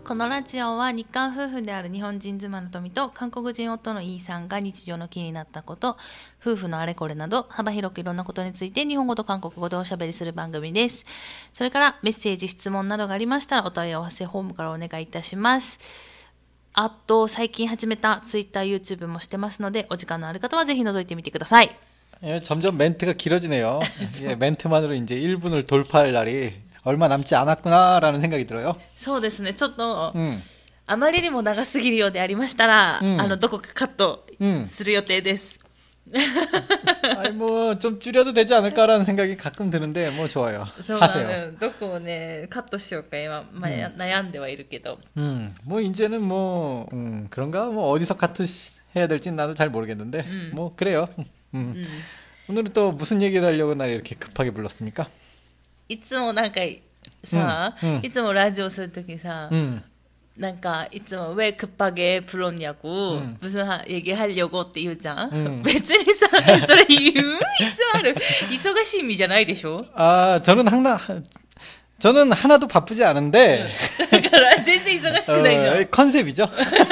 このラジオは日韓夫婦である日本人妻の富と韓国人夫のイーさんが日常の気になったこと、夫婦のあれこれなど幅広くいろんなことについて日本語と韓国語でおしゃべりする番組です。それからメッセージ、質問などがありましたらお問い合わせフォームからお願いいたします。あと最近始めた Twitter、YouTube もしてますのでお時間のある方はぜひ覗いてみてください。 점점 멘트가 길어지네요. 멘트만으로 이제 1분을 돌파할 날이 얼마 남지 않았구나라는 생각이 들어요. そうですね。ちょっと、あまりにも長すぎるようでありましたら、どこかカットする予定です。 아니 뭐 좀 줄여도 되지 않을까라는 생각이 가끔 드는데 뭐 좋아요. 하세요. どこをねカットしようか今、悩んではいるけど。 뭐 이제는 뭐 그런가 뭐 어디서 카트 해야 될지 나도 잘 모르겠는데 뭐 그래요. 오늘은 또 무슨 얘기를 하려고 날 이렇게 급하게 불렀습니까? いつもなんかさ、いつもラジオするときさ、なんかいつも왜 급하게 불렀냐고 무슨 얘기하려고って言うじゃん。別にさそれ言う必要ある？忙しい意味じゃないでしょ？ 아 저는 하나도 바쁘지 않은데 だから全然忙しくないじゃん。 컨셉이죠.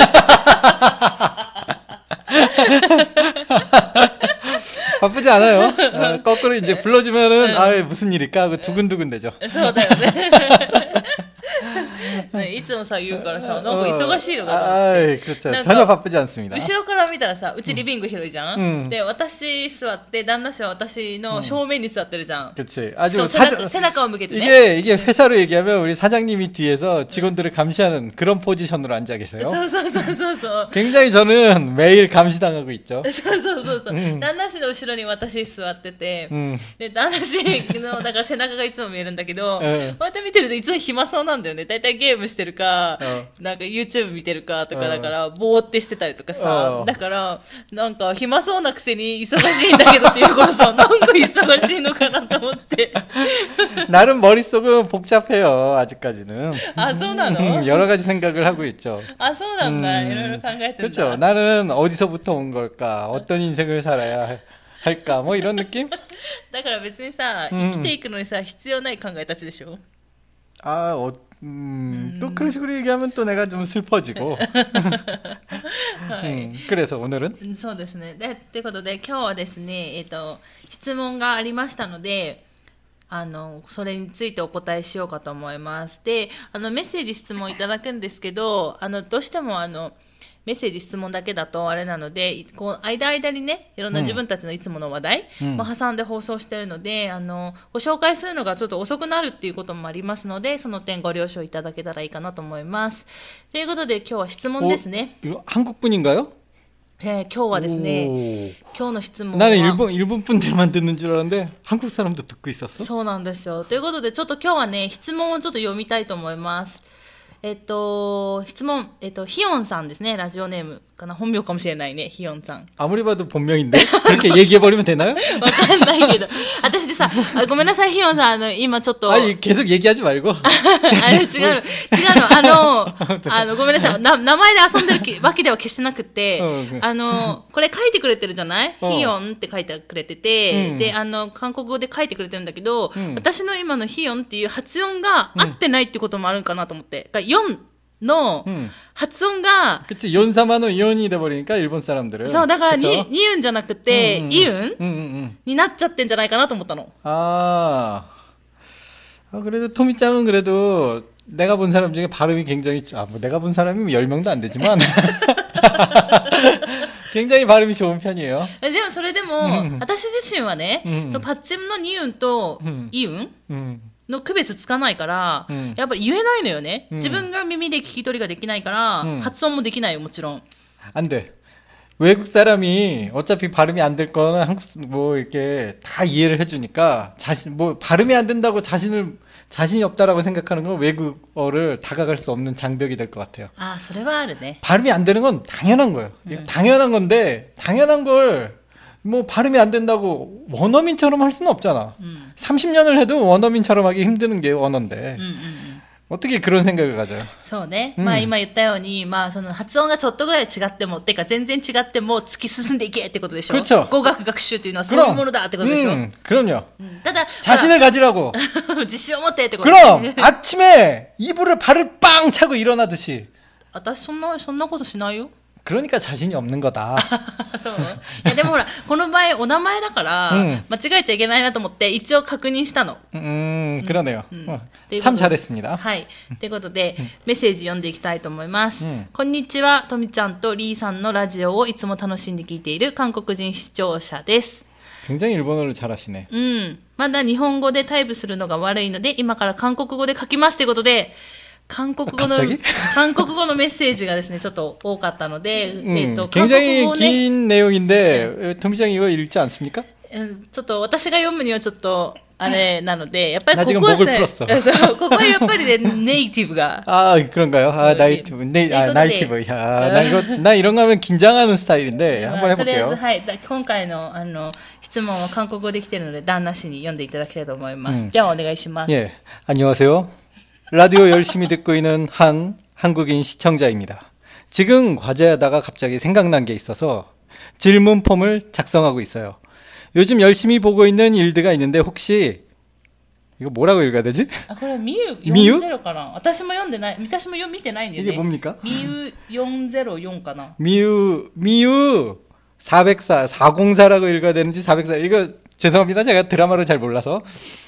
바쁘지 않아요. 거꾸로 이제 불러주면은 아 무슨 일일까 하고 두근두근 되죠. そうだよね。いつもさ言うからさなんか忙しいのかと思って。 그렇죠. 전혀 바쁘지 않습니다. 後ろから見たらさうちリビング広いじゃん。で私座って旦那氏は私の正面に座ってるじゃん。 그렇지. 아주 背中を向けてね。 이게 회사로 얘기하면 우리 사장님이 뒤에서 직원들을 감시하는 그런 포지션으로 앉아 계세요. そう。 굉장히 저는 매일 감시당하고 있죠. そう。旦那氏の後ろに私座ってて、で旦那氏のだから背中がいつも見えるんだけど、こうやって見てるといつも暇そうなんだよね。だいたいゲームしてるか、なんか YouTube 見てるかとかだからぼーってしてたりとかさ、だからなんか暇そうなくせに忙しいんだけどっていうからさ、なんか忙しいのかなと思って。 나름 머릿속은 복잡해요. 아직까지는. 아, そうなの? 여러 가지 생각을 하고 있죠. 아, そうなんだ. いろいろ考えてるんだ. 그렇죠. 나는 어디서부터 온 걸까? 어떤 인생을 살아야 할까? 뭐 이런 느낌? だから別にさ、生きていくのにさ、必要ない考えたちでしょ? 아, 또 그런 식으로 얘기하면 또 내가 좀 슬퍼지고. 그래서 오늘은? そうですね。で、ということで今日はですね、質問がありましたので、それについてお答えしようかと思います。で、メッセージ質問いただくんですけど、どうしてもメッセージ質問だけだとあれなので、こう間にねいろんな自分たちのいつもの話題も挟んで放送しているので、ご紹介するのがちょっと遅くなるっていうこともありますので、その点ご了承いただけたらいいかなと思います。ということで今日は質問ですね。 이거 한국분인가요? 今日はですね、今日の質問は 나는 일본 분들만 듣는 줄 알았는데 한국 사람도 듣고 있었어? そうなんですよ。ということでちょっと今日はね質問をちょっと読みたいと思います。質問、ヒヨンさんですね。ラジオネームかな。本名かもしれないね。ヒヨンさん。 아무리 봐도 본명인데? 그렇게 얘기해버리면 되나요? わかんないけど。私でさ、ごめんなさい、ヒヨンさん、今ちょっと。 아니, 계속 얘기하지 말고. 違うの。ごめんなさい。名前で遊んでるわけでは決してなくて、これ書いてくれてるじゃない？ヒヨンって書いてくれてて、で、韓国語で書いてくれてるんだけど、私の今のヒヨンっていう発音が合ってないってこともあるんかなと思って。4の発音が、 그치, 연사마노 이온이 돼버리니까 일본 사람들은. そう、だからニウンじゃなくて、イウンになっちゃってんじゃないかなと思ったの。 그래도 토미짱은 그래도 내가 본 사람 중에 발음이 굉장히, 뭐 내가 본 사람이 10명도 안 되지만 굉장히 발음이 좋은 편이에요. でもそれでも、私自身はね、パッチムのニウンとイウンの区別つかないから、やっぱり言えないのよね。自分が耳で聞き取りができないから、発音もできないよ、もちろん。 안 돼. 외국 사람이 어차피 발음이 안 될 거는 한국 뭐 이렇게 다 이해를 해주니까 뭐 발음이 안 된다고 자신이 없다라고 생각하는 건 외국어를 다가갈 수 없는 장벽이 될 것 같아요. 아, それはあるね. 발음이 안 되는 건 당연한 거예요. 당연한 건데 당연한 걸 뭐 발음이 안 된다고 원어민처럼 할 수는 없잖아. 30년을 해도 원어민처럼 하기 힘드는 게 언어인데. 어떻게 그런 생각을 가져요? そうね。まあ今言ったように、まあその発音がちょっとぐらい違っても、てか全然違っても突き進んでいけってことでしょ。 그렇죠。 語学学習というのはそういうものだってことでしょ。 그럼요。 ただ、 자신을 가지라고. 自信を持ってってこと。 그럼 아침에 이불을 발을 빵 차고 일어나듯이. 私そんなことしないよ。 그러니까 자신이 없는 거다. そう。いやでもほら、この場合お名前だから、間違えちゃいけないなと思って一応確認したの。 그러네요. ということで 참 잘했습니다. はい。ということで、メッセージ読んでいきたいと思います。こんにちは、とみちゃんとリーさんのラジオをいつも楽しんで聞いている韓国人視聴者です。 굉장히 일본어를 잘하시네. まだ日本語でタイプするのが悪いので、今から韓国語で書きますということで、韓国語のメッセージがですね、ちょっと多かったので、韓国 굉장히 語をね、 긴 내용인데 토미짱 이거 읽지 않습니까? ちょっと私が読むにはちょっとあれなので、やっぱり 나 こ 지금 こは 목을 ね、 풀었어. そうここはやっぱりね、ネイティブが。 아, 그런가요? 아, 나이티브. 나이티브. 야, 나 이런 거 하면 긴장하는 스타일인데 한번 とりあえ 해볼게요. ず、はい、今回の質問は韓国語できているので、旦那氏に読んでいただきたいと思います。じゃあお願いします。 예, 안녕하세요. 라디오 열심히 듣고 있는 한 한국인 시청자입니다. 지금 과제하다가 갑자기 생각난 게 있어서 질문 폼을 작성하고 있어요. 요즘 열심히 보고 있는 일드가 있는데 혹시 이거 뭐라고 읽어야 되지? あ、これミユ40かな。私も読んでない。私も見てないんだよね。 이게 뭡니까? ミユ404かな。 미유 404 404라고 읽어야 되는지 404 이거 죄송합니다. 제가 드라마를 잘 몰라서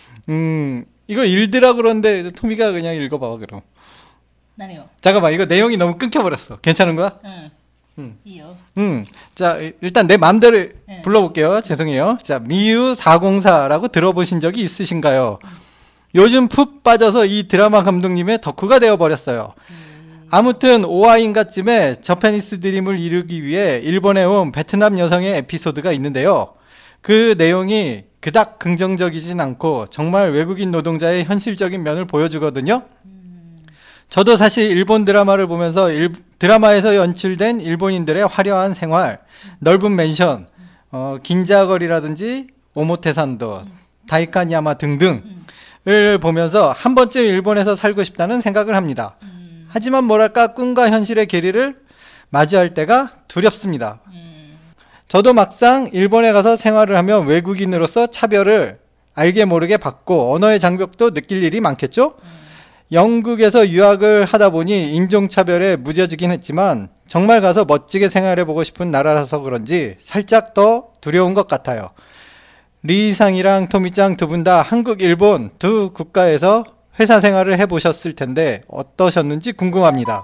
이거 일드라고 그러는데 토미가 그냥 읽어봐 그럼. 何よ。 잠깐만 이거 내용이 너무 끊겨버렸어. 괜찮은 거야? いいよ。 자 일단 내 마음대로 불러볼게요. 죄송해요. 자 미유 404라고 들어보신 적이 있으신가요? 요즘 푹 빠져서 이 드라마 감독님의 덕후가 되어버렸어요. 아무튼 5화인가쯤에 저페니스 드림을 이루기 위해 일본에 온 베트남 여성의 에피소드가 있는데요. 그 내용이 그닥 긍정적이진 않고 정말 외국인 노동자의 현실적인 면을 보여주거든요. 저도 사실 일본 드라마를 보면서 드라마에서 연출된 일본인들의 화려한 생활, 넓은 맨션, 긴자거리라든지 오모테산도, 다이칸야마 등등을 보면서 한 번쯤 일본에서 살고 싶다는 생각을 합니다. 하지만 뭐랄까 꿈과 현실의 괴리를 마주할 때가 두렵습니다. 저도 막상 일본에 가서 생활을 하면 외국인으로서 차별을 알게 모르게 받고 언어의 장벽도 느낄 일이 많겠죠? 영국에서 유학을 하다 보니 인종차별에 무뎌지긴 했지만 정말 가서 멋지게 생활해보고 싶은 나라라서 그런지 살짝 더 두려운 것 같아요. 리상이랑 토미짱 두 분 다 한국, 일본 두 국가에서 회사 생활을 해보셨을 텐데 어떠셨는지 궁금합니다.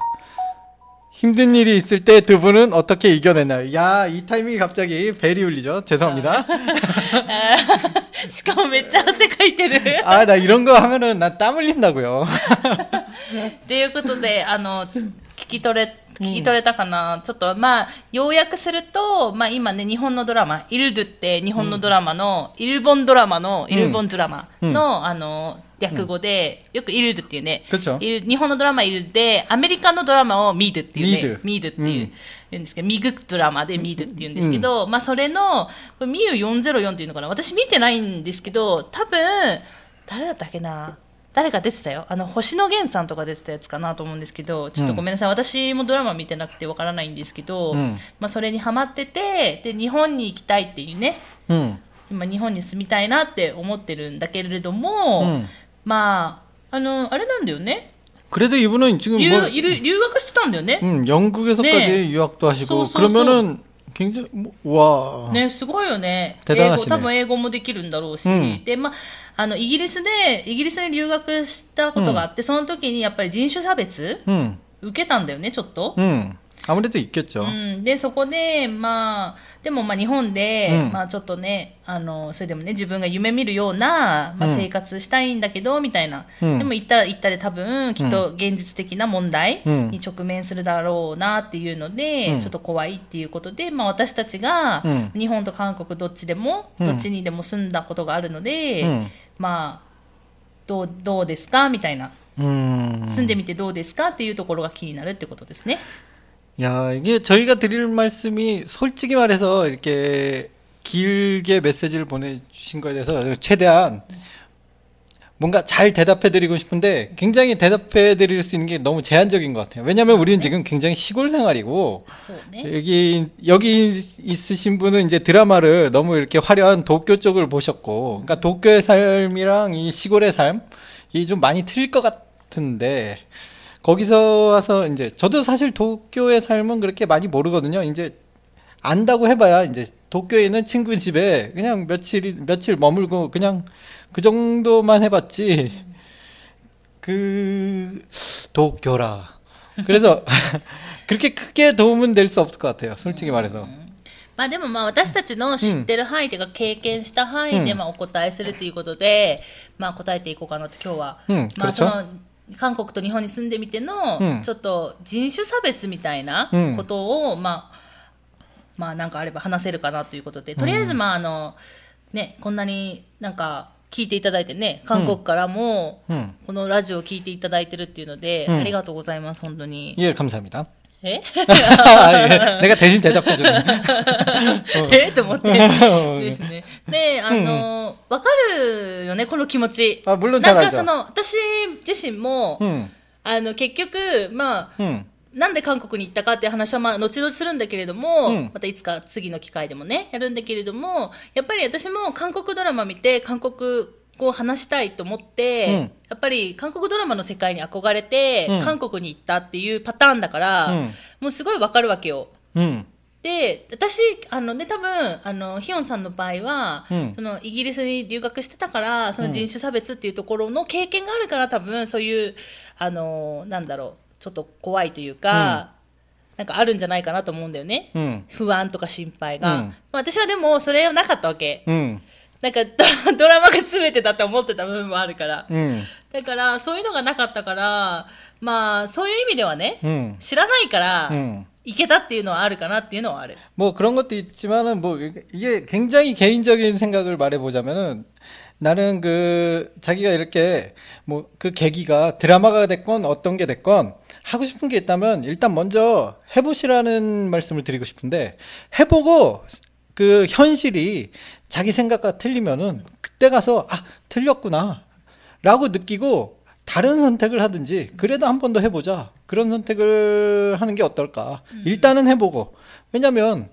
힘든 일이 있을 때 두 분은 어떻게 이겨내나요? 야, 이 타이밍이 갑자기 벨이 울리죠? 죄송합니다. しかもめっちゃ汗かいてる。 아, 나 이런 거 하면은 나 땀 흘린다고요. ということで、聞き取れたかな、ちょっとまあ要約すると、まあ今ね、日本のドラマイルドゥって日本のドラマの、イルボンドラマの略語で、よくイルドゥっていうね、日本のドラマイルドゥでアメリカのドラマをミードゥっていうね、ミードゥっていう、言うんですけど、ミグドラマでミードゥって言うんですけど、まあそれのミユ404っていうのかな、私見てないんですけど、多分誰だったっけな、誰が出てたよ、星野源さんとか出てたやつかなと思うんですけど、ちょっとごめんなさい、私もドラマ見てなくてわからないんですけど、まあそれにハマってて、で日本に行きたいっていうね、今日本に住みたいなって思ってるんだけれども、まああれなんだよね。 그래도 이분은 지금 뭐 留学してたんだよね。 영국에서까지 네. 유학도 하시고 소. 그러면은 굉장히 와. ね、すごいよね。 대단하시네. 多分英語もできるんだろうし、でまあイギリスに留学したことがあって、その時にやっぱり人種差別、受けたんだよね、ちょっと。 아무래도 있겠죠. でそこでまあでもまあ日本で、まあちょっとねそれでもね自分が夢見るような、まあ、生活したいんだけど、みたいな、でも行ったで多分きっと現実的な問題に直面するだろうなっていうので、ちょっと怖いっていうことで、まあ私たちが、日本と韓国どっちにでも住んだことがあるので、まあどうですかみたいな、住んでみてどうですかっていうところが気になるってことですね。 야, 이게 저희가 드릴 말씀이 솔직히 말해서 이렇게 길게 메시지를 보내주신 거에 대해서 최대한 뭔가 잘 대답해드리고 싶은데 굉장히 대답해드릴 수 있는 게 너무 제한적인 것 같아요. 왜냐하면 우리는 지금 굉장히 시골 생활이고 여기 있으신 분은 이제 드라마를 너무 이렇게 화려한 도쿄 쪽을 보셨고, 그러니까 도쿄의 삶이랑 이 시골의 삶이 좀 많이 틀릴 것 같은데 거기서 와서 이제 저도 사실 도쿄의 삶은 그렇게 많이 모르거든요. 이제 안다고 해봐야 이제 도쿄에 있는 친구 집에 그냥 며칠 머물고 그냥 그 정도만 해봤지. 도쿄라. 그래서 그렇게 크게 도움은 될 수 없을 것 같아요. 솔직히 말해서. まあでもまあ私たちの知ってる範囲というか経験した範囲でまあお答えするということで、まあ答えていこうかなと今日は。まあその韓国と日本に住んでみてのちょっと人種差別みたいなことをまあなんかあれば話せるかなということで、とりあえずまあね、こんなになんか聞いていただいてね、韓国からもこのラジオを聞いていただいてるっていうので、ありがとうございます本当に。 감사합니다。 내가 대신 대답해주네。 と思ってですね。で、わかるよね、この気持ち。 なんか私自身も、結局、まあ、なんで韓国に行ったかっていう話はまあ後々するんだけれども、またいつか次の機会でもね、やるんだけれども、やっぱり私も韓国ドラマ見て韓国語を話したいと思って、やっぱり韓国ドラマの世界に憧れて、韓国に行ったっていうパターンだから、もうすごいわかるわけよ。で、私、多分、ヒヨンさんの場合は、そのイギリスに留学してたから、その人種差別っていうところの経験があるから、多分そういう、なんだろう、ちょっと怖いというか、なんかあるんじゃないかなと思うんだよね。不安とか心配が。私はでもそれはなかったわけ。なんかドラマが全てだって思ってた部分もあるから。だからそういうのがなかったから、まあそういう意味ではね、知らないから、行けたっていうのはあるかなっていうのはある。 뭐 그런 것도 있지만은 뭐 이게 굉장히 개인적인 생각을 말해보자면은 나는 자기가 이렇게 뭐 그 계기가 드라마가 됐건 어떤 게 됐건 하고 싶은 게 있다면 일단 먼저 해보시라는 말씀을 드리고 싶은데, 해보고 그 현실이 자기 생각과 틀리면은 그때 가서 틀렸구나 라고 느끼고 다른 선택을 하든지, 그래도 한 번 더 해보자, 그런 선택을 하는 게 어떨까. 일단은 해보고. 왜냐면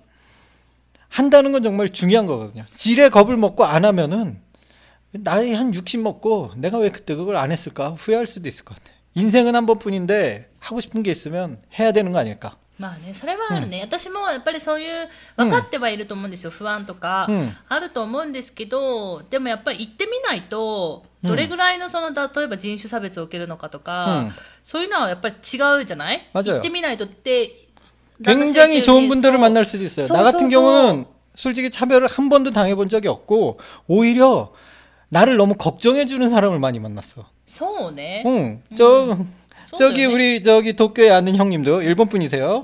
한다는 건 정말 중요한 거거든요. 지레 겁을 먹고 안 하면은 나이 한 60 먹고 내가 왜 그때 그걸 안 했을까 후회할 수도 있을 것 같아. 인생은 한 번뿐인데 하고 싶은 게 있으면 해야 되는 거 아닐까. まあね、それはあるね。私もやっぱりそういう分かってはいると思うんですよ。不安とかあると思うんですけど、でもやっぱり行ってみないとどれぐらいの例えば人種差別を受けるのかとか、そういうのはやっぱり違うじゃない？ 맞아요. 行ってみないとって。 굉장히 좋은 분들을 만날 수도 있어요. 나 같은 경우는 솔직히 차별을 한 번도 당해본 적이 없고 오히려 나를 너무 걱정해주는 사람을 많이 만났어. そうね. 저기 우리 도쿄에 아는 형님도 일본 분이세요.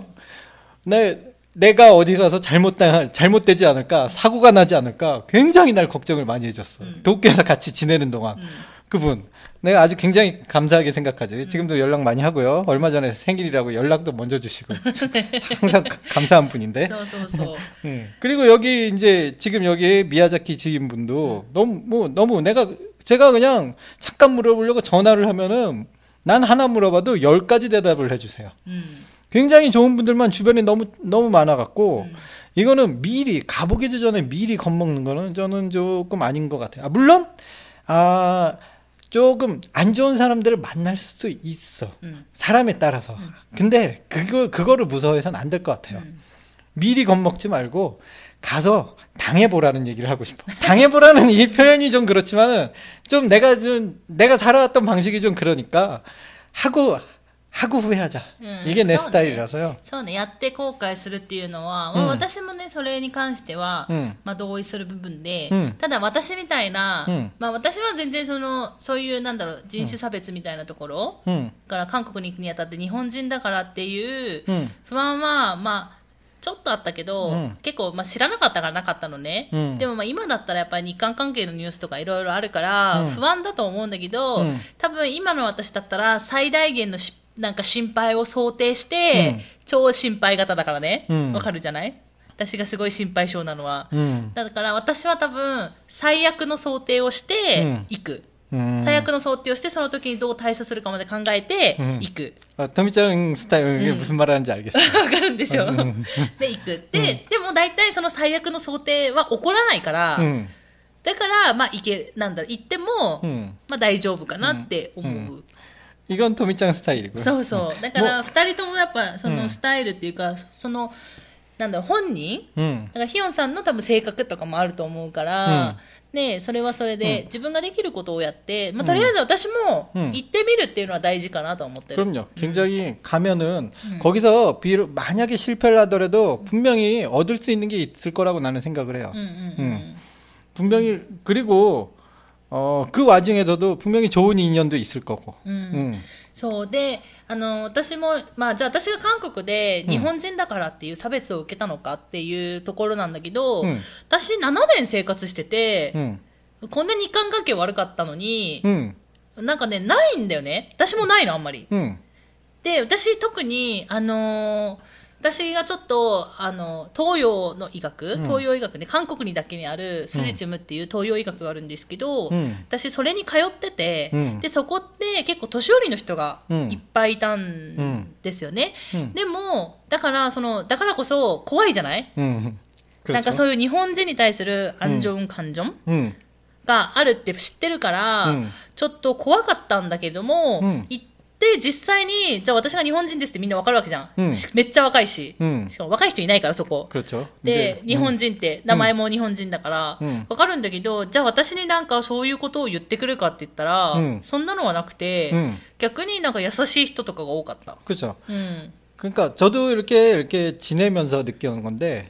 내가 어디 가서 잘못되지 않을까, 사고가 나지 않을까 굉장히 날 걱정을 많이 해줬어. 도쿄에서 같이 지내는 동안. 그분 내가 아주 굉장히 감사하게 생각하지. 지금도 연락 많이 하고요. 얼마 전에 생일이라고 연락도 먼저 주시고 항상 감사한 분인데. 그리고 여기 이제 지금 여기 미야자키 지인분도 너무 제가 그냥 잠깐 물어보려고 전화를 하면은 난 하나 물어봐도 10가지 대답을 해주세요. 굉장히 좋은 분들만 주변에 너무 많아갖고 이거는 미리 가보기도 전에 미리 겁먹는 거는 저는 조금 아닌 것 같아요. 물론 조금 안 좋은 사람들을 만날 수도 있어. 사람에 따라서. 근데 그거를 무서워해서는 안 될 것 같아요. 미리 겁먹지 말고 가서 당해보라는 얘기를 하고 싶어. 당해보라는 이 표현이 좀 그렇지만은 좀 내가 살아왔던 방식이 좀 그러니까 하고 후회하자. 이게 내 스타일이라서요. そうね、やって後悔するっていうのは、私もねそれに関しては、まあ同意する部分で、ただ私みたいな、まあ私は全然そういうなんだろう人種差別みたいなところ、から韓国に行くにあたって日本人だからっていう不安はまあちょっとあったけど、結構まあ知らなかったからなかったのね。でもまあ今だったらやっぱり日韓関係のニュースとかいろいろあるから、不安だと思うんだけど、多分今の私だったら最大限のなんか心配を想定して、超心配型だからね。わかるじゃない？私がすごい心配性なのは。だから私は多分最悪の想定をして行く。 最悪の想定をしてその時にどう対処するかまで考えて行く。 トミちゃんスタイル무슨 말하는지 알겠어. わかるんでしょ。で行く。でも大体その最悪の想定は起こらないから、だからまあ行ってもまあ大丈夫かなって思う。 이건トミちゃんスタイル。 そうそう。だから二人ともやっぱそのスタイルっていうかその本人、だからヒヨンさんの多分性格とかもあると思うから、ね、それはそれで自分ができることをやって、まあ、とりあえず私も行ってみるっていうのは大事かなと思ってる。 그럼요. 굉장히 가면은 거기서 만약에 실패를 하더라도 분명히 얻을 수 있는 게 있을 거라고 나는 생각을 해요. 분명히 그리고 그 와중에서도 분명히 좋은 인연도 있을 거고. そうで私も、まあ、じゃあ私が韓国で日本人だからっていう差別を受けたのかっていうところなんだけど、私7年生活してて、こんな日韓関係悪かったのに、なんかねないんだよね。私もないのあんまり。で私特に私がちょっと東洋の医学、東洋医学で韓国にだけにあるスジチムっていう東洋医学があるんですけど、私それに通ってて、でそこって結構年寄りの人がいっぱいいたんですよね。でもだからこそ怖いじゃない？なんかそういう日本人に対する安全感情があるって知ってるから、ちょっと怖かったんだけども、行ってで実際にじゃあ私が日本人ですってみんなわかるわけじゃん、めっちゃ若いし、しかも若い人いないからそこで日本人って名前も日本人だからわかるんだけど、じゃあ私になんかそういうことを言ってくるかって言ったら、そんなのはなくて、逆になんか優しい人とかが多かった。 그렇죠. 그러니까 저도 이렇게 지내면서 느끼는 건데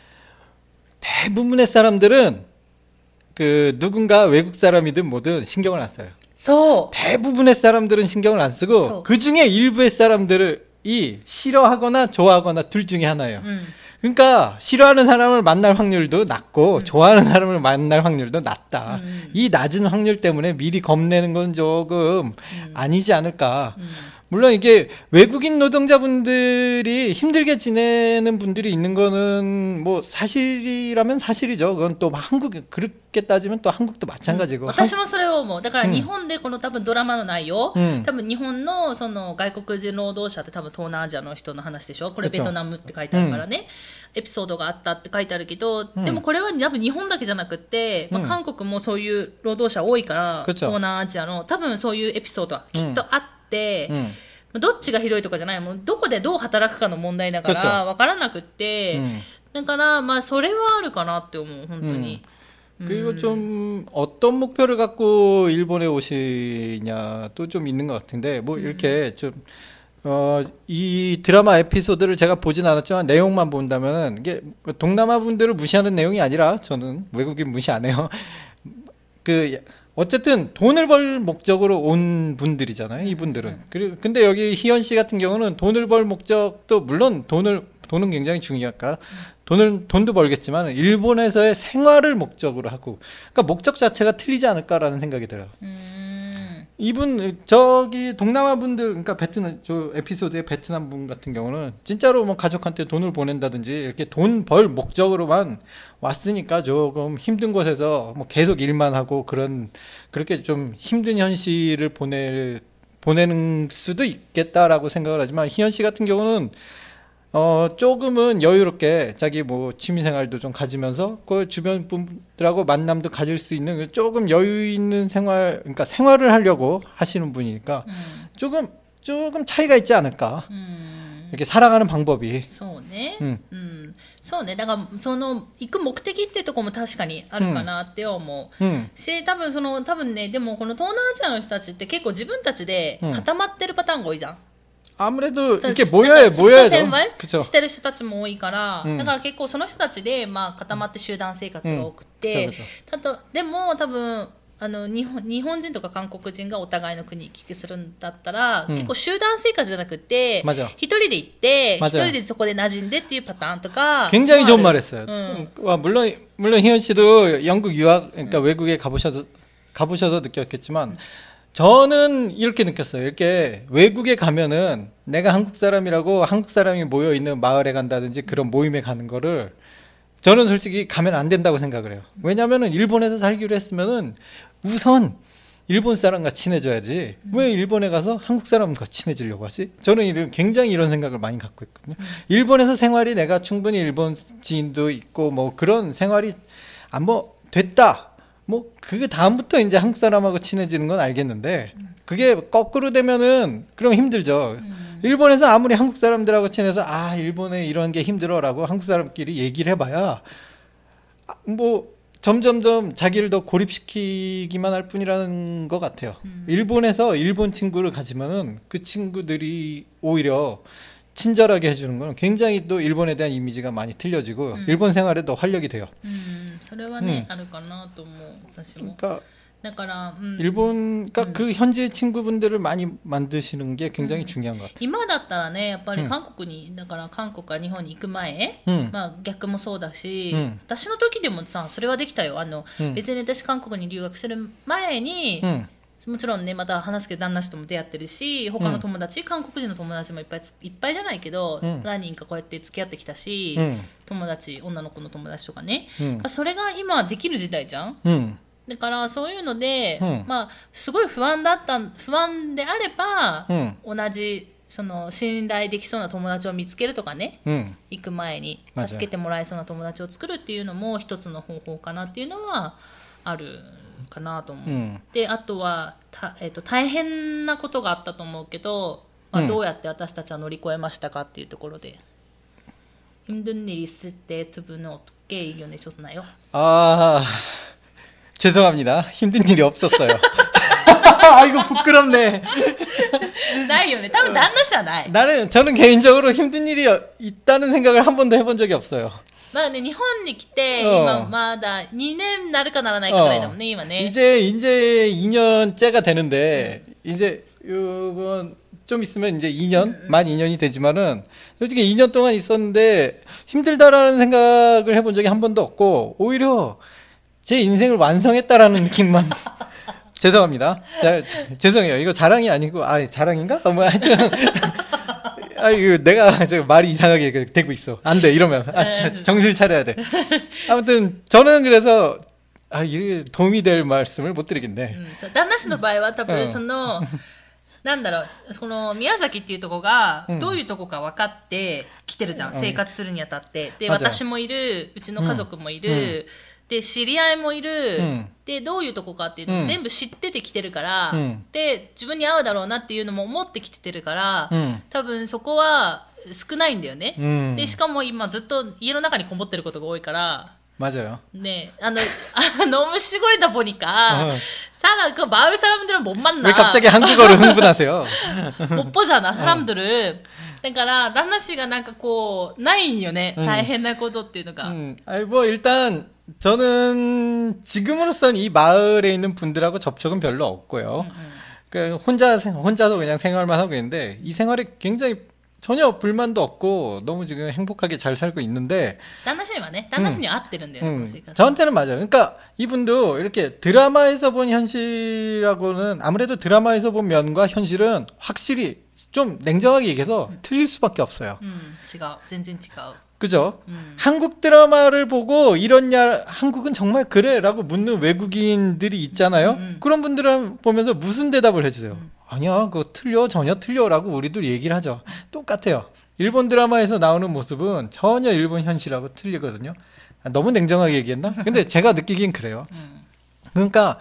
대부분의 사람들은 그 누군가 외국 사람이든 뭐든 신경을 안 써요. 대부분의 사람들은 신경을 안 쓰고 그 중에 일부의 사람들이 싫어하거나 좋아하거나 둘 중에 하나예요. 그러니까 싫어하는 사람을 만날 확률도 낮고 좋아하는 사람을 만날 확률도 낮다. 이 낮은 확률 때문에 미리 겁내는 건 조금 아니지 않을까. 물론 이게 외국인 노동자분들이 힘들게 지내는 분들이 있는 거는 뭐 사실이라면 사실이죠. 그건 또 한국 그렇게 따지면 또 한국도 마찬가지고. 私もそれを思う。だから日本でこの多分ドラマの内容、多分日本のその外国人労働者って多分東南アジアの人の話でしょ。これベトナムって書いてあるからね。エピソードがあったって書いてあるけど、でもこれは多分日本だけじゃなくて、まあ、韓国もそういう労働者多いから、東南アジアの多分そういうエピソードはきっとあって、どっちがひどいとかじゃない、もうどこでどう働くかの問題だから分からなくって、だからまあそれはあるかなって思う本当に。 그리고 좀 어떤 목표를 갖고 일본에 오시냐도 좀 있는 것 같은데 뭐 이렇게 좀 이 드라마 에피소드를 제가 보진 않았지만 내용만 본다면 이게 동남아 분들을 무시하는 내용이 아니라 저는 외국인 무시 안 해요. 그 어쨌든 돈을 벌 목적으로 온 분들이잖아요, 이분들은. 그리고 근데 여기 희연 씨 같은 경우는 돈을 벌 목적도 물론 돈은 굉장히 중요할까. 돈도 벌겠지만 일본에서의 생활을 목적으로 하고, 그러니까 목적 자체가 틀리지 않을까라는 생각이 들어요. 이분 저기 동남아 분들, 그러니까 베트남 저 에피소드의 베트남 분 같은 경우는 진짜로 뭐 가족한테 돈을 보낸다든지 이렇게 돈 벌 목적으로만 왔으니까 조금 힘든 곳에서 뭐 계속 일만 하고 그렇게 좀 힘든 현실을 보내는 수도 있겠다라고 생각을 하지만 희연 씨 같은 경우는 조금은 여유롭게 자기 뭐 취미생활도 좀 가지면서 그 주변 분들하고 만남도 가질 수 있는 조금 여유 있는 생활, 그러니까 생활을 하려고 하시는 분이니까 조금 차이가 있지 않을까. 이렇게 살아가는 방법이. そうね。そうね。だからその行く目的っていうところも確かにあるかなって思う。し、多分ね、でもこの東南アジアの人たちって結構自分たちで固まってるパターンが多いじゃん。 아무래도 이렇게 모여야 그쵸. してる人たちも多いから、だから結構その人たちでまあ固まって集団生活が多くて、でも多分日本人とか韓国人がお互いの国に行き来するんだったら、結構集団生活じゃなくて一人で行って一人でそこで馴染んでっていうパターンとか 굉장히 좋은 말했어요. 물론 희연 씨도 영국 유학, 그러니까 외국에 가보셔서 느꼈겠지만. 저는 이렇게 느꼈어요. 이렇게 외국에 가면은 내가 한국 사람이라고 한국 사람이 모여 있는 마을에 간다든지 그런 모임에 가는 거를 저는 솔직히 가면 안 된다고 생각을 해요. 왜냐면은 일본에서 살기로 했으면은 우선 일본 사람과 친해져야지 왜 일본에 가서 한국 사람과 친해지려고 하지? 저는 굉장히 이런 생각을 많이 갖고 있거든요. 일본에서 생활이 내가 충분히 일본 지인도 있고 뭐 그런 생활이 뭐 됐다. 뭐 그 다음부터 이제 한국 사람하고 친해지는 건 알겠는데 그게 거꾸로 되면은 그럼 힘들죠. 일본에서 아무리 한국 사람들하고 친해서 일본에 이런 게 힘들어라고 한국 사람끼리 얘기를 해봐야 뭐 점점점 자기를 더 고립시키기만 할 뿐이라는 것 같아요. 일본에서 일본 친구를 가지면은 그 친구들이 오히려 친절하게 해주는 건 굉장히 또 일본에 대한 이미지가 많이 틀려지고 일본 생활에 더 활력이 돼요. それはね、あるかなと思う私も。 그러니까 だから、 일본 그러니까 그 현지 친구분들을 많이 만드시는 게 굉장히 중요한 것 같아요. 今だったらねやっぱり韓国に、だから韓国か日本に行く前、まあ逆もそうだし、私の時でもさそれはできたよ。別に私韓国に留学する前に、もちろんねまた話すけど旦那氏とも出会ってるし他の友達、韓国人の友達もいっぱいじゃないけど、何人かこうやって付き合ってきたし、友達女の子の友達とかね、それが今できる時代じゃん、だからそういうので、まあすごい不安であれば、同じその信頼できそうな友達を見つけるとかね、行く前に助けてもらえそうな友達を作るっていうのも一つの方法かなっていうのはあるかなと思う、であとは大変なことがあったと思うけど、どうやって私たちは乗り越えましたかっていうところで힘든 일이 있을 때 두 분은 어떻게 이겨내셨나요? 죄송합니다. 힘든 일이 없었어요. 이거 부끄럽네. ないよね。多分旦那氏はない。 저는 개인적으로 힘든 일이 있다는 생각을 한 번도 해본 적이 없어요. まあね、日本に来て、今まだ2年なるかならないかぐらいだもんね、今ね。 이제 2년째가 되는데, 이제 요번 좀 있으면 이제 2년, 만 2년이 되지만은, 솔직히 2년 동안 있었는데, 힘들다라는 생각을 해본 적이 한 번도 없고, 오히려 제 인생을 완성했다라는 느낌만. 죄송합니다. 죄송해요. 이거 자랑이 아니고, 자랑인가? 뭐 하여튼. 이거 내가 말이 이상하게 되고 있어. 안 돼, 이러면. 정신을 차려야 돼. 아무튼, 저는 그래서, 이게 도움이 될 말씀을 못 드리겠네. 旦那氏の場合は多分なんだろう、この宮崎っていうとこがどういうとこか分かってきてるじゃん、生活するにあたって。で、私もいる、うちの家族もいる、で、知り合いもいる、で、どういうとこかっていうのを全部知っててきてるから、で、自分に合うだろうなっていうのも思ってきてるから、多分そこは少ないんだよね。で、しかも今ずっと家の中にこもってることが多いから、 맞아요. 네, 너무 시골이다 보니까 그 마을 사람들은 못 만나. 왜 갑자기 한국어를 흥분하세요? 못 보잖아 사람들을. 그러니까旦那씨가なんかこうないんよね. 大変なことっていうのが. 뭐 일단 저는 지금으로선 이 마을에 있는 분들하고 접촉은 별로 없고요. 그 혼자서 그냥 생활만 하고 있는데 이 생활이 굉장히 전혀 불만도 없고 너무 지금 행복하게 잘 살고 있는데 旦那氏はね、旦那氏に合ってるんだよね、 저한테는 맞아요. 그러니까 이분도 이렇게 드라마에서 본 현실하고는 아무래도 드라마에서 본 면과 현실은 확실히 좀 냉정하게 얘기해서 틀릴 수밖에 없어요. 違う、全然違う. 그죠? 한국 드라마를 보고 이러냐, 한국은 정말 그래? 라고 묻는 외국인들이 있잖아요. 그런 분들을 보면서 무슨 대답을 해주세요? 아니야, 그거 틀려, 전혀 틀려 라고 우리도 얘기를 하죠. 똑같아요. 일본 드라마에서 나오는 모습은 전혀 일본 현실하고 틀리거든요. 너무 냉정하게 얘기했나? 근데 제가 느끼긴 그래요. 그러니까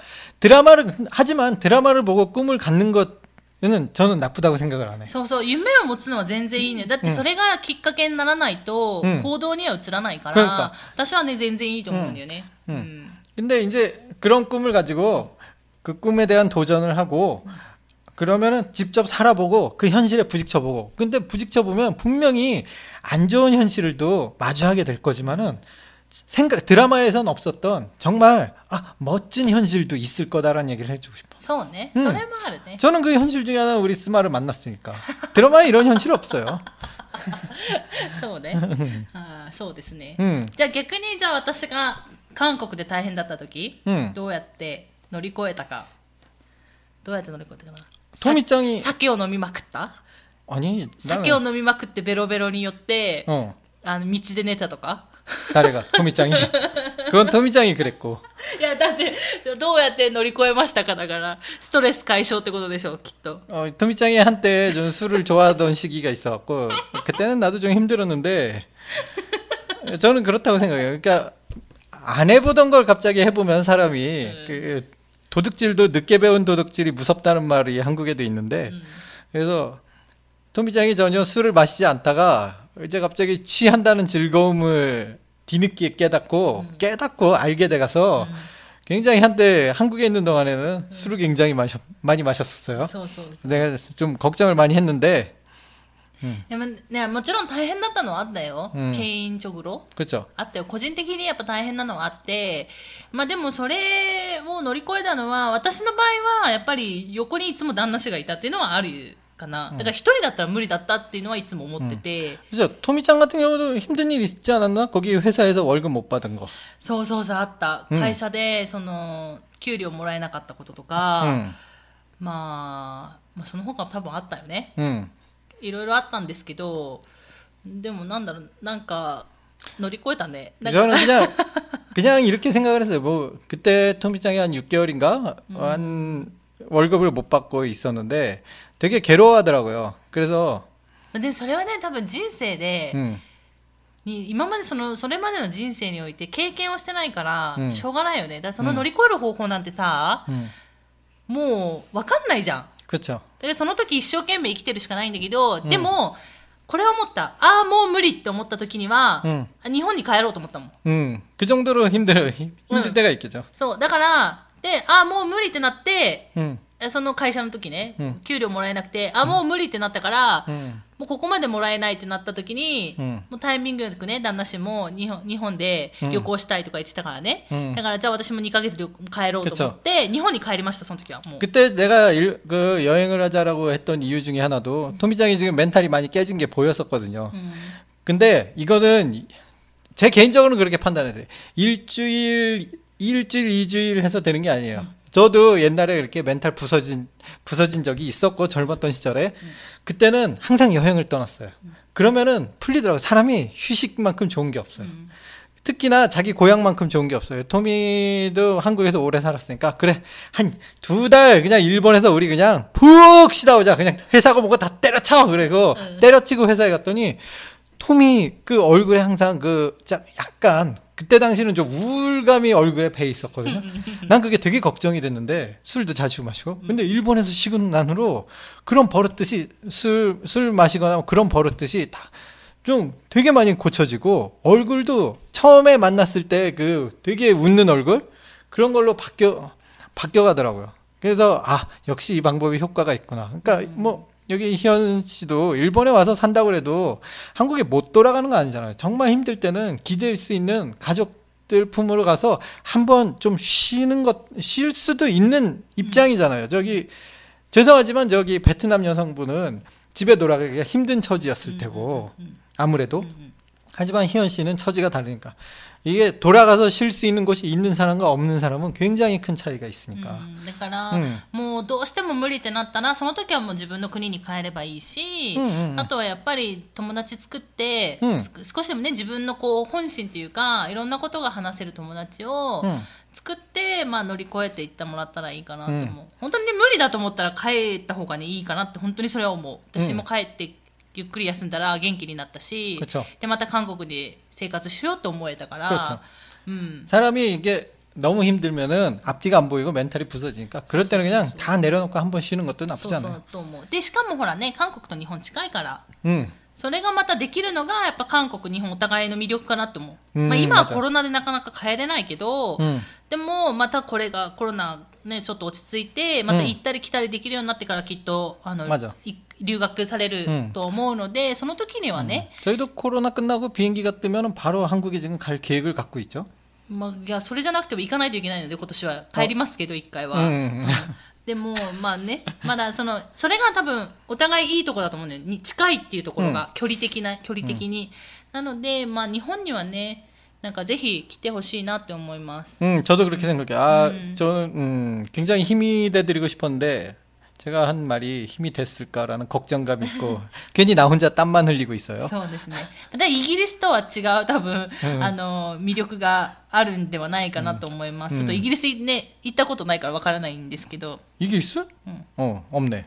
하지만 드라마를 보고 꿈을 갖는 것은 저는 나쁘다고 생각을 안 해요. そうそう、夢を持つのは全然いいね。だってそれがきっかけにならないと行動には移らないから、私はね全然いいと思うんだよね。 근데 이제 그런 꿈을 가지고 그 꿈에 대한 도전을 하고 그러면은 직접 살아보고 그 현실에 부딪혀보고, 근데 부딪혀보면 분명히 안 좋은 현실도 마주하게 될 거지만은 드라마에선 없었던 정말 멋진 현실도 있을 거다라는 얘기를 해주고 싶어. そうね、それもあるね. 저는 그 현실 중에 하나 우리 스마를 만났으니까. 드라마에 이런 현실 없어요. そうね。そうですね。じゃあ逆にじゃあ私が韓国で大変だった時、どうやって乗り越えたか。どうやって乗り越えたかな。 토미짱이 酒を飲みまくった？ 아니, 酒を飲みまくってベロベロによって道で寝たとか？ 誰が? 토미짱이? 그건 토미짱이 그랬고. いやだってどうやって乗り越えましたかだからストレス解消ってことでしょきっと 토미짱이 한때 좀 술을 좋아하던 시기가 있어갖고 그때는 나도 좀 힘들었는데 저는 그렇다고 생각해요. 그러니까 안 해보던 걸 갑자기 해보면 사람이 그 도둑질도 늦게 배운 도둑질이 무섭다는 말이 한국에도 있는데 그래서 토미짱이 전혀 술을 마시지 않다가 이제 갑자기 취한다는 즐거움을 뒤늦게 깨닫고 알게 돼가서 굉장히 한때 한국에 있는 동안에는 술을 굉장히 많이 마셨었어요. そうそうそう 내가 좀 걱정을 많이 했는데 でもね、もちろん大変だったのはあったよ、ケインチョグロ 그렇죠. あったよ。個人的にやっぱ大変なのはあって、まあでもそれを乗り越えたのは、私の場合はやっぱり横にいつも旦那氏がいたっていうのはあるかな。だから一人だったら無理だったっていうのはいつも思ってて。 그죠. 토미짱 같은 경우도 힘든 일 있지 않았나? 거기 회사에서 월급 못 받은 거. そうそうそうあった。会社でその給料もらえなかったこととか、まあその他多分あったよね。いろいろあったんですけど、でもなんだろう、なんか乗り越えたね。 저는 그냥 이렇게 생각을 했어요. 뭐 그때 토미짱이 한 6개월인가 한 월급을 못 받고 있었는데 되게 괴로워하더라고요. 그래서 でそれはね多分人生で、今までそれまでの人生において経験をしてないから、しょうがないよね。だからその乗り越える方法なんてさ、もう分かんないじゃん。 그렇죠. でその時一生懸命生きてるしかないんだけど、でもこれは思った。ああもう無理って思った時には、日本に帰ろうと思ったもん。 그 정도로 힘들 때가 있겠죠. そうだからでああもう無理ってなって、その会社の時ね、給料もらえなくて、あもう無理ってなったから、もうここまでもらえないってなった時に、もうタイミングよくね旦那氏も日本で旅行したいとか言ってたからね、だからじゃあ私も2ヶ月で帰ろうと思って日本に帰りました。その時はもう 그때 내가 그 여행을 하자라고 했던 이유 중에 하나도 토미짱이 지금 멘탈이 많이 깨진 게 보였었거든요. 근데 이거는 제 개인적으로는 그렇게 판단했어요. 일주일 2주일 해서 되는 게 아니에요. 저도 옛날에 이렇게 멘탈 부서진 적이 있었고 젊었던 시절에 그때는 항상 여행을 떠났어요. 그러면은 풀리더라고요. 사람이 휴식만큼 좋은 게 없어요. 특히나 자기 고향만큼 좋은 게 없어요. 토미도 한국에서 오래 살았으니까 그래 한 2달 그냥 일본에서 우리 그냥 푹 쉬다 오자. 그냥 회사고 뭐고 다 때려쳐. 그래고 때려치고 회사에 갔더니 토미 그 얼굴에 항상 그 약간 그때 당시는 좀 우울감이 얼굴에 배 있었거든요. 난 그게 되게 걱정이 됐는데 술도 자주 마시고. 근데 일본에서 쉬고 난 후로 그런 버릇듯이 술 마시거나 그런 버릇듯이 다 좀 되게 많이 고쳐지고 얼굴도 처음에 만났을 때 그 되게 웃는 얼굴 그런 걸로 바뀌어가더라고요. 그래서 아 역시 이 방법이 효과가 있구나. 그러니까 뭐 여기 희연 씨도 일본에 와서 산다고 해도 한국에 못 돌아가는 거 아니잖아요. 정말 힘들 때는 기댈 수 있는 가족들 품으로 가서 한번 좀 쉴 수도 있는 입장이잖아요. 저기 죄송하지만 저기 베트남 여성분은 집에 돌아가기가 힘든 처지였을 테고 아무래도 하지만 희연 씨는 처지가 다르니까 이게 돌아가서 쉴 수 있는 곳이 있는 사람과 없는 사람은 굉장히 큰 차이가 있으니까. だから、もうどうしても無理ってなったらその時はもう自分の国に帰ればいいし、あとはやっぱり友達作って、少しでもね自分のこう本心っていうかいろんなことが話せる友達を作って、まあ、乗り越えていってもらったらいいかなと思う。本当にね無理だと思ったら帰った方がねいいかなって本当にそれは思う。私も帰ってゆっくり休んだら元気になったし、でまた韓国で生活しようと思えたから、 사람이 이게 너무 힘들면은 앞뒤가 안 보이고 멘탈이 부서지니까 그럴 때는 그냥 다 내려놓고 한번 쉬는 것도 나쁘지 않아요. そうと思う。でしかもほらね韓国と日本近いから、それがまたできるのがやっぱ韓国日本お互いの魅力かなと思う。まあ今はコロナでなかなか帰れないけど、でもまたこれがコロナねちょっと落ち着いてまた行ったり来たりできるようになってからきっと留学されると思うので、その時にはね。 저희도 코로나 끝나고 비행기가 뜨면 바로 한국에 지금 갈 계획을 갖고 있죠. まあいやそれじゃなくても行かないといけないので今年は帰りますけど1回は。でもまあねまだそれが多分お互いいいところだと思うのよ。近いっていうところが距離的に、なのでまあ日本にはねなんかぜひ来てほしいなって思います。 저도 그렇게 생각해요. 저는 굉장히 힘이 돼드리고 싶었는데 제가 한 말이 힘이 됐을까라는 걱정감이 있고 괜히 나 혼자 땀만 흘리고 있어요. そうですね。でイギリスとは違う多分、魅力があるんではないかなと思います、ちょっとイギリスね行ったことないからわからないんですけど。 イギリス? 없네.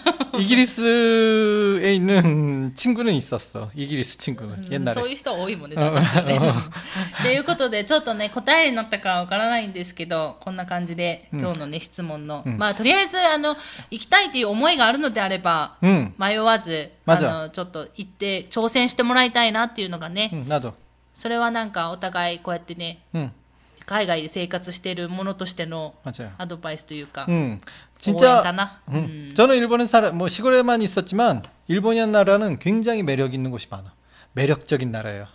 이기리스에 있는 친구는 있었어. 이기리스 친구는 옛날에. そういう人は多いもんね。ということでちょっとね答えになったかわからないんですけど、こんな感じで今日のね質問の、まあとりあえず行きたいという思いがあるのであれば、迷わずちょっと行って挑戦してもらいたいなっていうのがね。 나도. それはなんかお互いこうやってね、海外で生活しているものとしてのアドバイスというか、 진짜 応援かな。 저는 일본에 뭐 시골에만 있었지만 일본이라는 나라는 굉장히 매력 있는 곳이 많아. 매력적인 나라예요.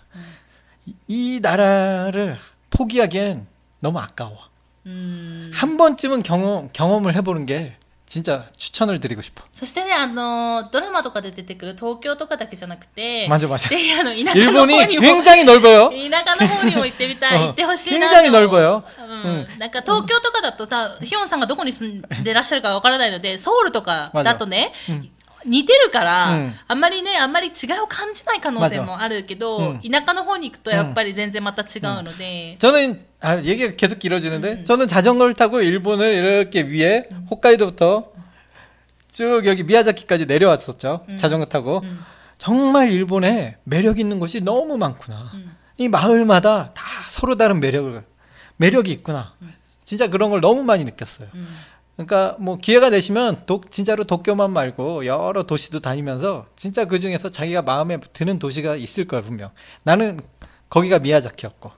이 나라를 포기하기엔 너무 아까워. 한 번쯤은 경험을 해보는 게 진짜 추천을 드리고 싶어. そしてねドラマとかで出てくる東京とかだけじゃなくて、 맞아. ぜひ田舎の方 일본이 にも 굉장히 넓어요. 田舎の方にも行ってみたい、行ってほしいな。 굉장히 넓어요. なんか東京とかだとさ、ヒヨンさんがどこに住んでらっしゃるかわからないので、ソウルとかだとね、似てるから、あんまり違いを感じない可能性もあるけど、田舎の方に行くとやっぱり全然また違うので。 저는 얘기가 계속 길어지는데 저는 자전거를 타고 일본을 이렇게 위에 홋카이도부터 쭉 여기 미야자키까지 내려왔었죠. 자전거 타고. 정말 일본에 매력 있는 곳이 너무 많구나. 이 마을마다 다 서로 다른 매력이 있구나. 진짜 그런 걸 너무 많이 느꼈어요. 그러니까 뭐 기회가 되시면 진짜로 도쿄만 말고 여러 도시도 다니면서 진짜 그 중에서 자기가 마음에 드는 도시가 있을 거야 분명. 나는 거기가 미야자키였고.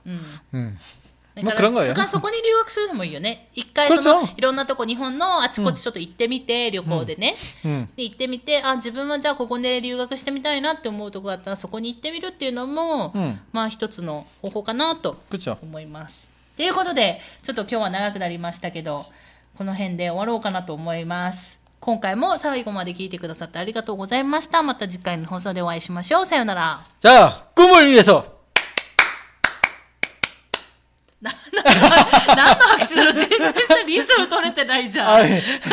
뭐 그런 거예요. だからそこに留学するのもいいよね。一回いろんなとこ日本のあちこちちょっと行ってみて、旅行でね、で行ってみて、自分はじゃあここで留学してみたいなって思うとこだったらそこに行ってみるっていうのも、まあ一つの方法かなと思います。ということでちょっと今日は長くなりましたけど、この辺で終わろうかなと思います。今回も最後まで聞いてくださってありがとうございました。また次回の放送でお会いしましょう。さようなら。 자, 꿈을 위해서. 何の拍手なの？全然さリズム取れてないじゃん。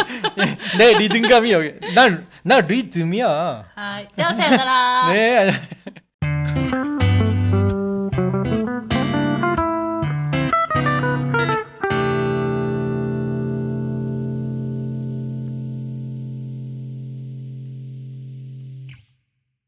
내 리듬감이 여기. 난 리듬이야. はい。ではさようなら。 네.